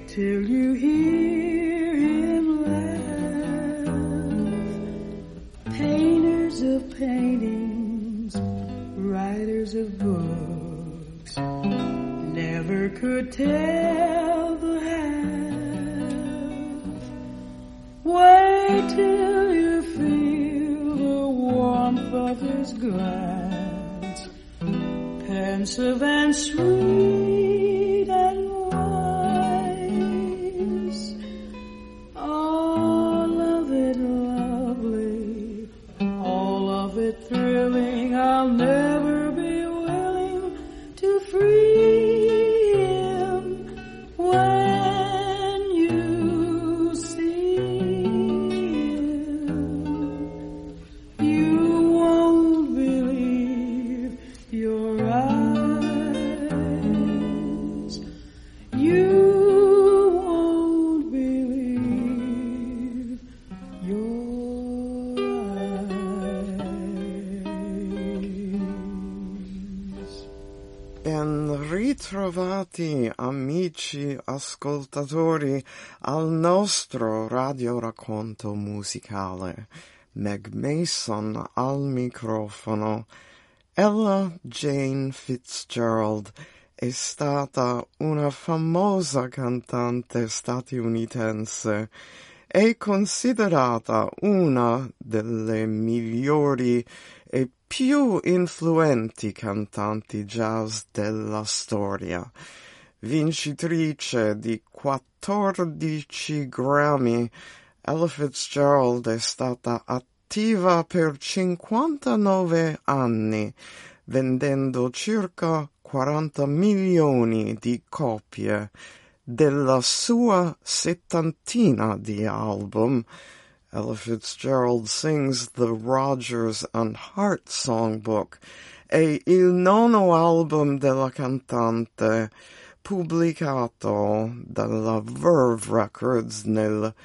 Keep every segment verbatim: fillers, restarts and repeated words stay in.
till you hear him laugh. Painters of paintings, writers of books, never could tell the half. Wait till you feel the warmth of his glance, pensive and sweet and wise. All of it lovely, all of it thrilling. I'll never be willing to free him when you see him. You won't believe your eyes. You won't believe your eyes. Ben ritrovati amici ascoltatori al nostro radioracconto musicale. Meg Mason al microfono. Ella Jane Fitzgerald è stata una famosa cantante statunitense. È considerata una delle migliori e più influenti cantanti jazz della storia. Vincitrice di quattordici Grammy, Ella Fitzgerald è stata attiva per cinquantanove anni, vendendo circa quaranta milioni di copie. Della sua settantina di album, Ella Fitzgerald sings the Rodgers and Hart Songbook, è il nono album della cantante, pubblicato dalla Verve Records nel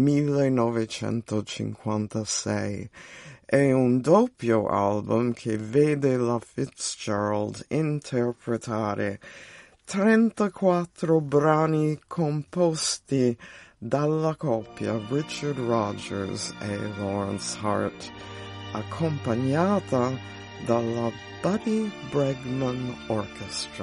millenovecentocinquantasei. È un doppio album che vede la Fitzgerald interpretare trentaquattro brani composti dalla coppia Richard Rodgers e Lawrence Hart, accompagnata dalla Buddy Bregman Orchestra.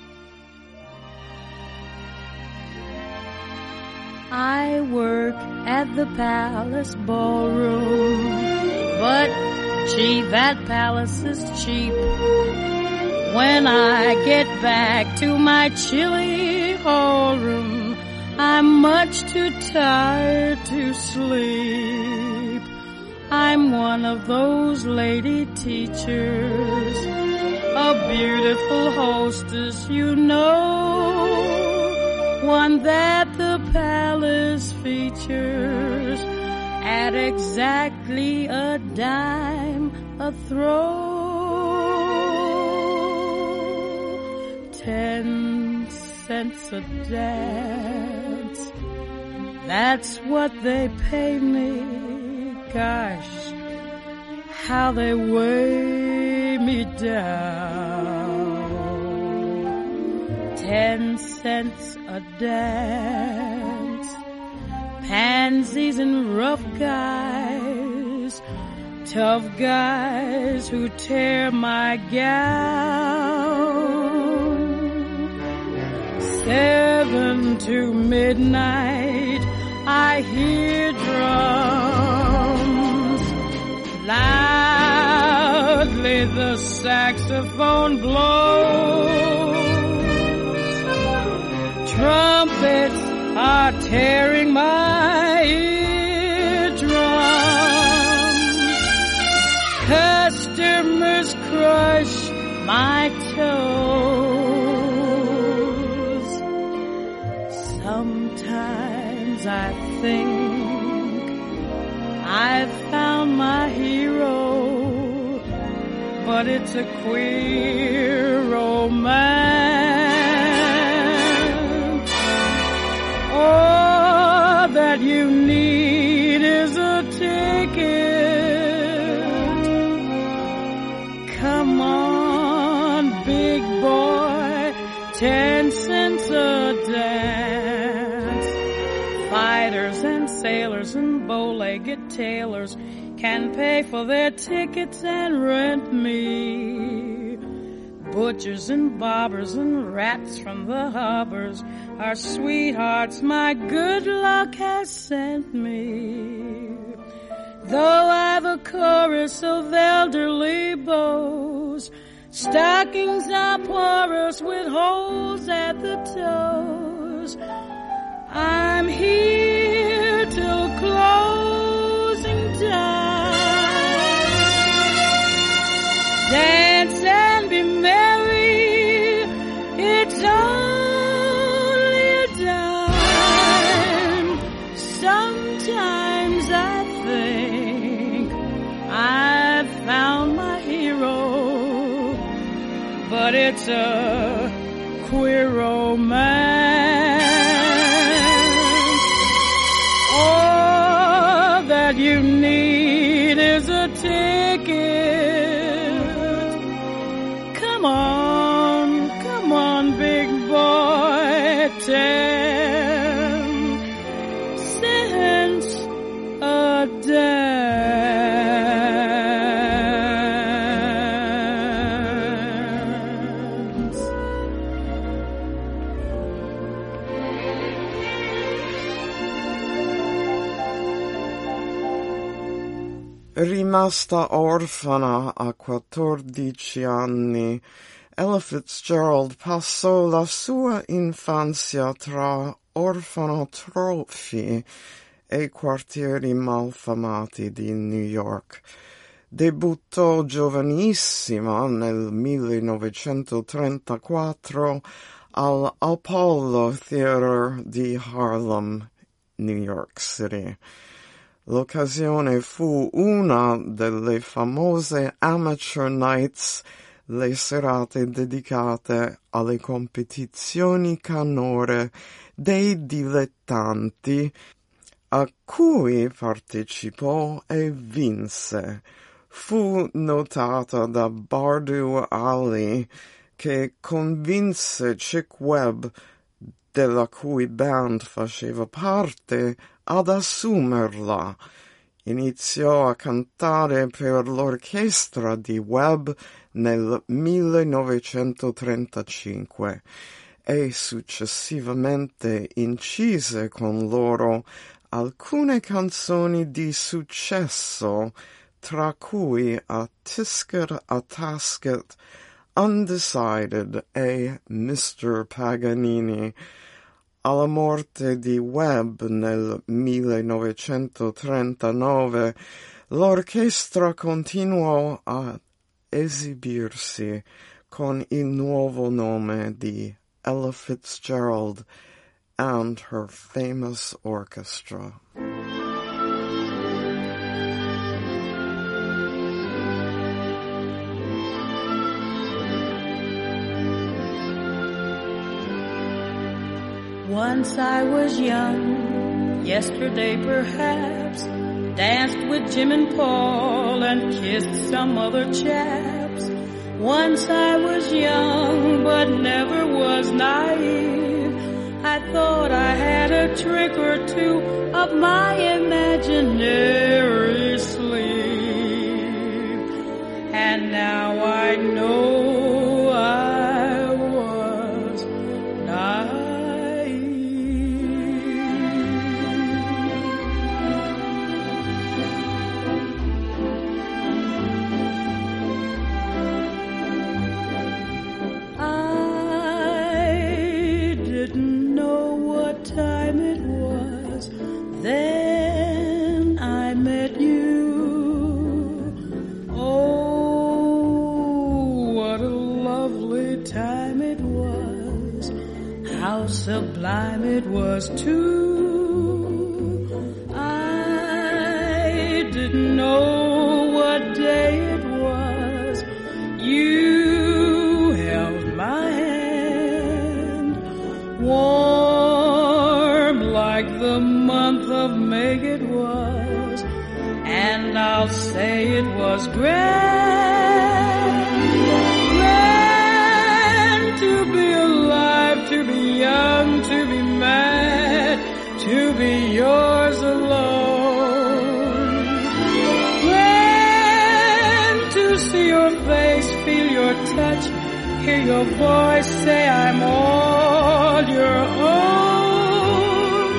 I work at the Palace Ballroom, but gee, that palace is cheap. When I get back to my chilly hallroom, I'm much too tired to sleep. I'm one of those lady teachers, a beautiful hostess, you know, one that the palace features at exactly a dime a throw. Ten cents a dance, that's what they pay me. Gosh, how they weigh me down. Ten cents a dance, pansies and rough guys, tough guys who tear my gown. Seven to midnight, I hear drums. Loudly the saxophone blows. Trumpets are tearing my eardrums. Customers crush my toes. Sometimes I think I've found my hero, but it's a queer romance. All that you need is a ticket. Come on, big boy, ten cents a dance. sailors and bow-legged tailors can pay for their tickets and rent me. Butchers and barbers and rats from the harbors are sweethearts my good luck has sent me. Though I've a chorus of elderly beaux, stockings are porous with holes at the toes. I'm here till closing time. Dance and be merry, it's only a dime. Sometimes I think I've found my hero, but it's a queer romance. All that you need is a ticket. Come on, come on, big boy, ten cents a dance. Rimasta orfana a quattordici anni, Ella Fitzgerald passò la sua infanzia tra orfanotrofi e quartieri malfamati di New York. Debuttò giovanissima nel millenovecentotrentaquattro al Apollo Theater di Harlem, New York City. L'occasione fu una delle famose Amateur Nights, le serate dedicate alle competizioni canore dei dilettanti, a cui partecipò e vinse. Fu notata da Bardu Ali, che convinse Chick Webb, della cui band faceva parte, ad assumerla. Iniziò a cantare per l'orchestra di Webb nel millenovecentotrentacinque e successivamente incise con loro alcune canzoni di successo, tra cui A Tisket a Tasket, Undecided e mister Paganini. Alla morte di Webb nel millenovecentotrentanove, l'orchestra continuò a esibirsi con il nuovo nome di Ella Fitzgerald and her famous orchestra. Once I was young, yesterday perhaps, danced with Jim and Paul and kissed some other chaps. Once I was young, but never was naive. I thought I had a trick or two up my imaginary sleeve. And now I know I was naive. Time it was, then I met you. Oh, what a lovely time it was, how sublime it was too. I didn't know what day it was, you held my hand, warm like the month of May it was, and I'll say it was grand, grand to be alive, to be young, to be mad, to be yours alone. hear your voice say I'm all your own.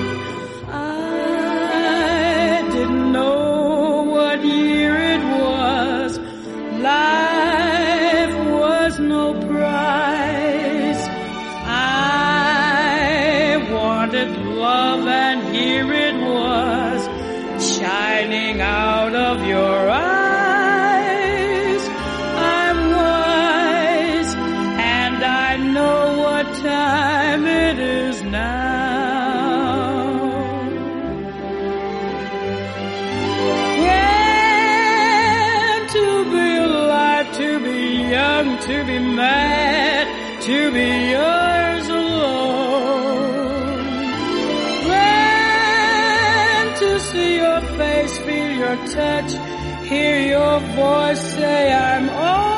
I didn't know what year it was. Life was no prize. I wanted love, and here it was, shining out of your eyes. Time it is now. When to be alive, to be young, to be mad, to be yours alone. When to see your face, feel your touch, hear your voice say I'm all.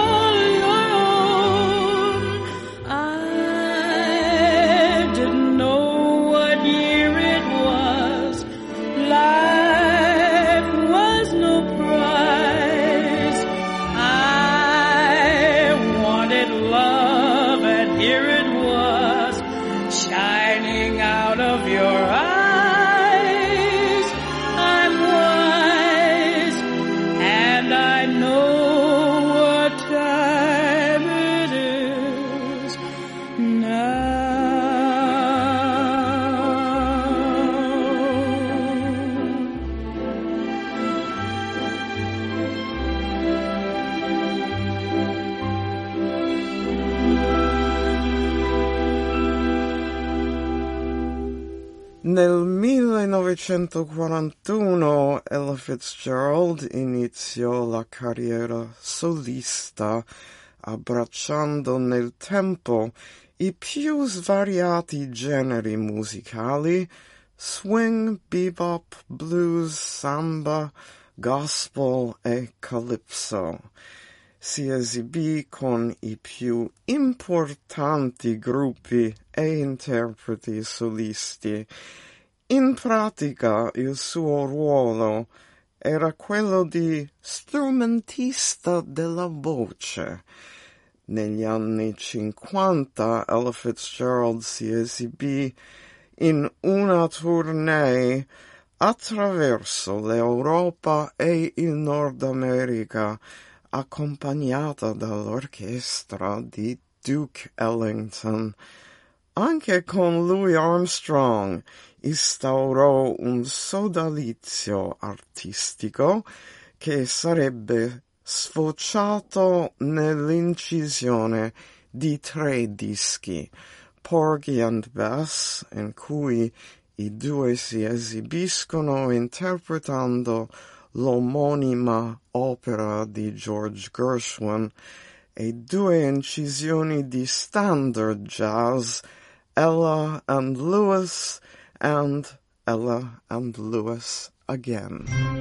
Nel millenovecentoquarantuno Ella Fitzgerald iniziò la carriera solista, abbracciando nel tempo i più svariati generi musicali: swing, bebop, blues, samba, gospel e calypso. Si esibì con i più importanti gruppi e interpreti solisti. In pratica il suo ruolo era quello di strumentista della voce. Negli anni cinquanta Ella Fitzgerald si esibì in una tournée attraverso l'Europa e il Nord America, accompagnata dall'orchestra di Duke Ellington. Anche con Louis Armstrong instaurò un sodalizio artistico che sarebbe sfociato nell'incisione di tre dischi: Porgy and Bess, in cui i due si esibiscono interpretando l'omonima opera di George Gershwin, e due incisioni di standard jazz, Ella and Louis and Ella and Louis again.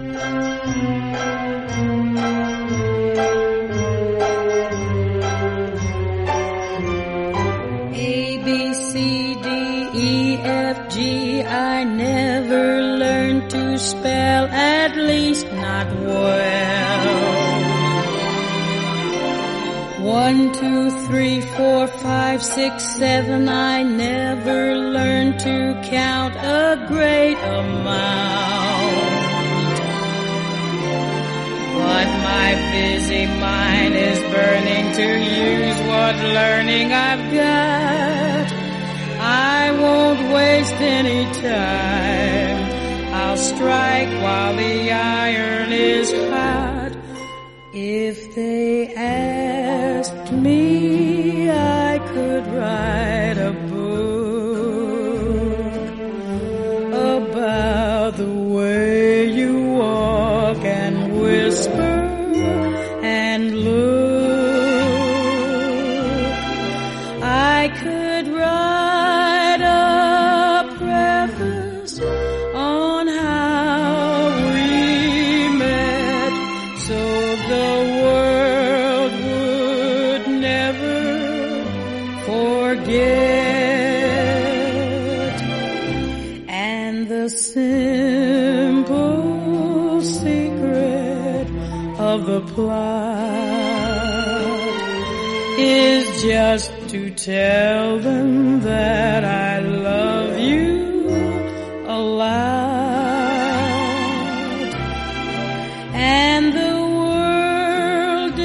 A, B, C, D, E, F, G, I never learned to spell, at least not well. One, two, three, four, five, six, seven, I never learned to count a great amount. But my busy mind is burning to use what learning I've got. I won't waste any time. I'll strike while the iron is hot. If they asked me, I could write a book about the way you walk and whisper and look. I could write a preface on how we met, so the world would never forget. And the simple secret of the plot is just to tell them that I love you aloud. And the world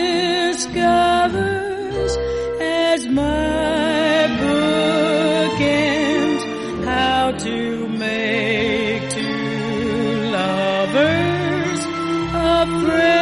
discovers as my book ends how to make two lovers a friend.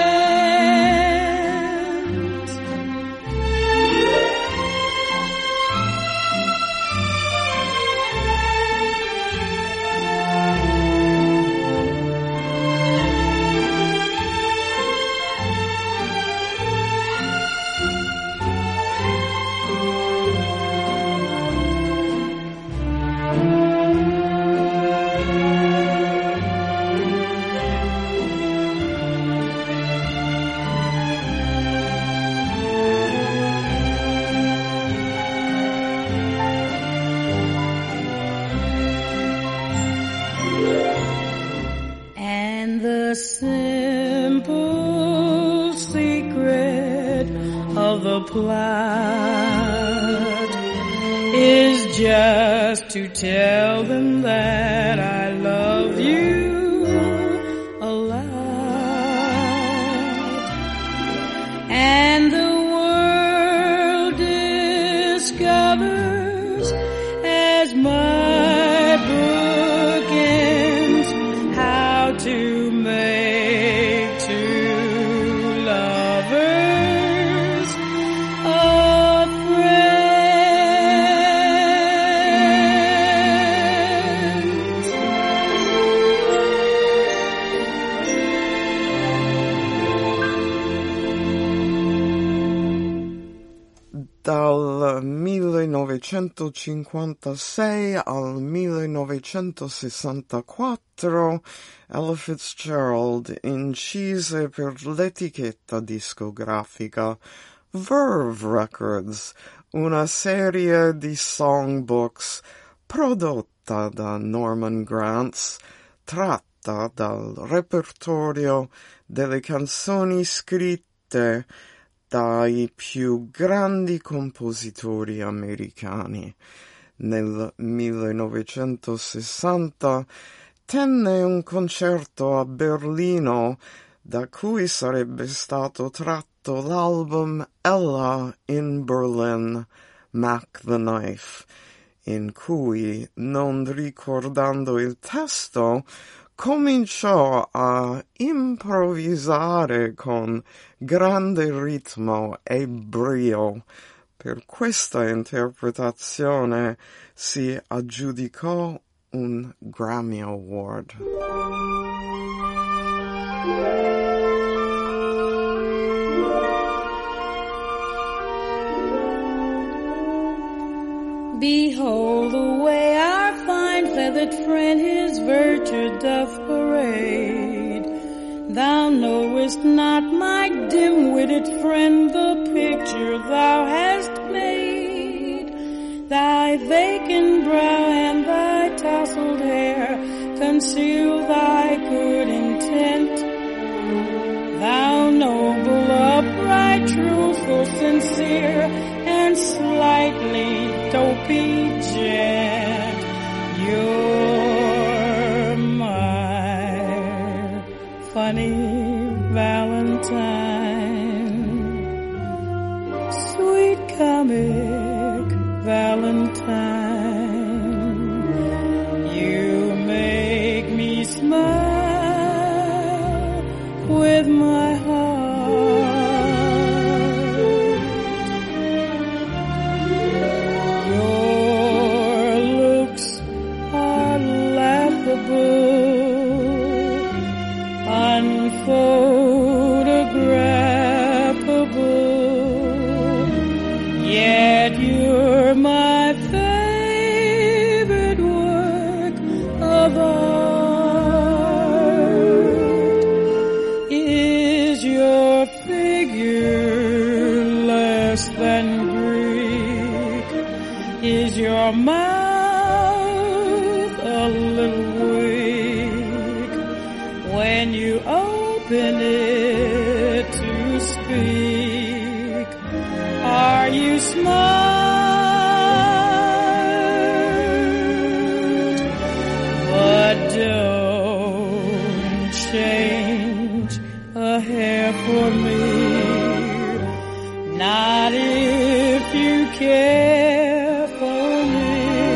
The simple secret of the plot is just to tell them that I love you aloud. And the world discovers as my book ends how to make two lovers a friend. Dal millenovecentocinquantasei al millenovecentosessantaquattro Ella Fitzgerald incise per l'etichetta discografica Verve Records una serie di songbooks prodotta da Norman Granz, tratta dal repertorio delle canzoni scritte dai più grandi compositori americani. Nel millenovecentosessanta tenne un concerto a Berlino da cui sarebbe stato tratto l'album Ella in Berlin, Mac the Knife, in cui, non ricordando il testo, cominciò a improvvisare con grande ritmo e brio. Per questa interpretazione si aggiudicò un Grammy Award. Behold the way our fine feathered friend his virtue doth parade. Thou knowest not, my dim-witted friend, the picture thou hast made. Thy vacant brow and thy tousled hair conceal thy good intent. Thou noble, upright, truthful, sincere, and slightly dopey gent, you're my funny Valentine, sweet comic Valentine. You make me smile with my heart. Unphotographable, yet you're my favorite work of art. Is your figure less than Greek? Is your mouth a little weak when you open it to speak? Are you smart? But don't change a hair for me. Not if you care for me.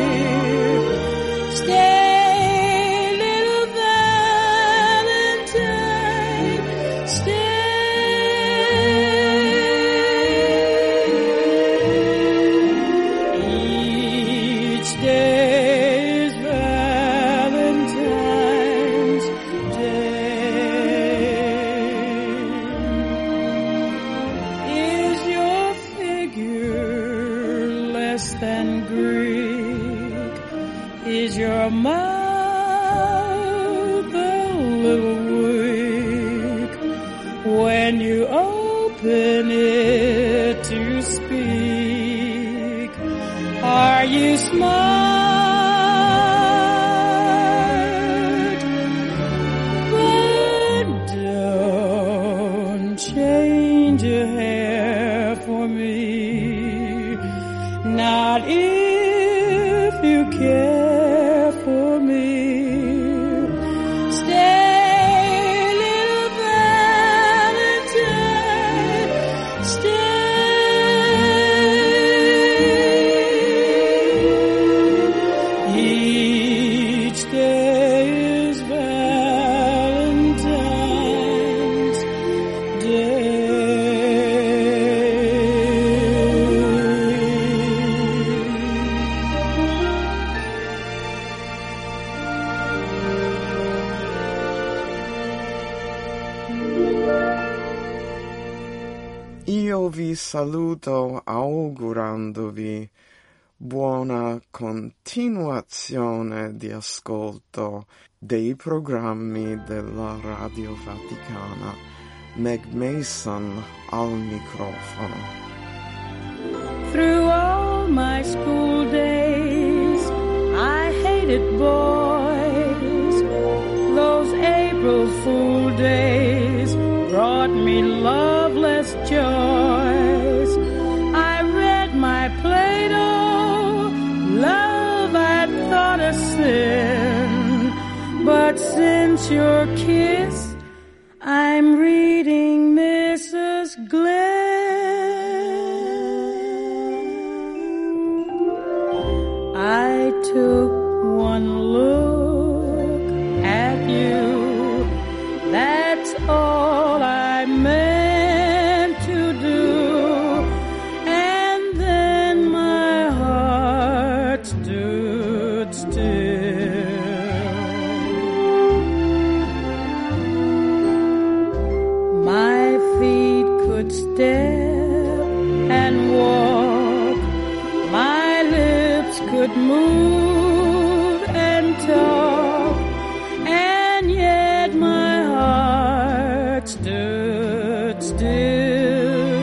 Stay, little Valentine, stay. Each day is Valentine's Day. Is your figure less than Greek? Is your mouth a little weak when you open it to speak? Are you smart? But don't change a hair for me. Not if you care for me. Stay, little Valentine, stay. Each day is Valentine's Day. Io vi saluto augurandovi buona continuazione di ascolto dei programmi della Radio Vaticana. Meg Mason al microfono. Through all my school days, I hated boys. Those April Fool days brought me loveless joys. I read my Plato, love I thought a sin. But since your kiss, I'm reading Missus Glenn. I took one look at you, that's all I meant to do, and then my heart stood still. My feet could step and walk, my lips could move and talk, and yet my heart stood still.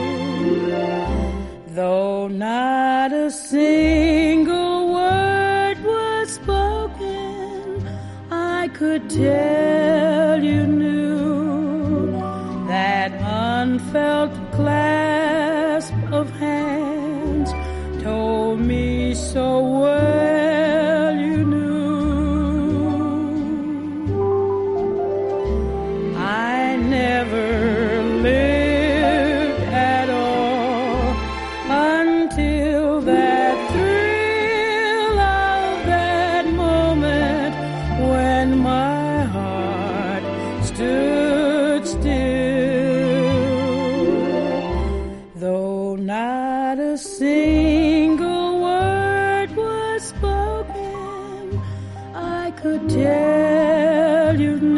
Though not a single word was spoken, I could tell you knew that unfelt clasp of hands told me so well you knew. I never lived at all until that thrill of that moment when my heart stood still. Though not a single word was spoken, I could tell you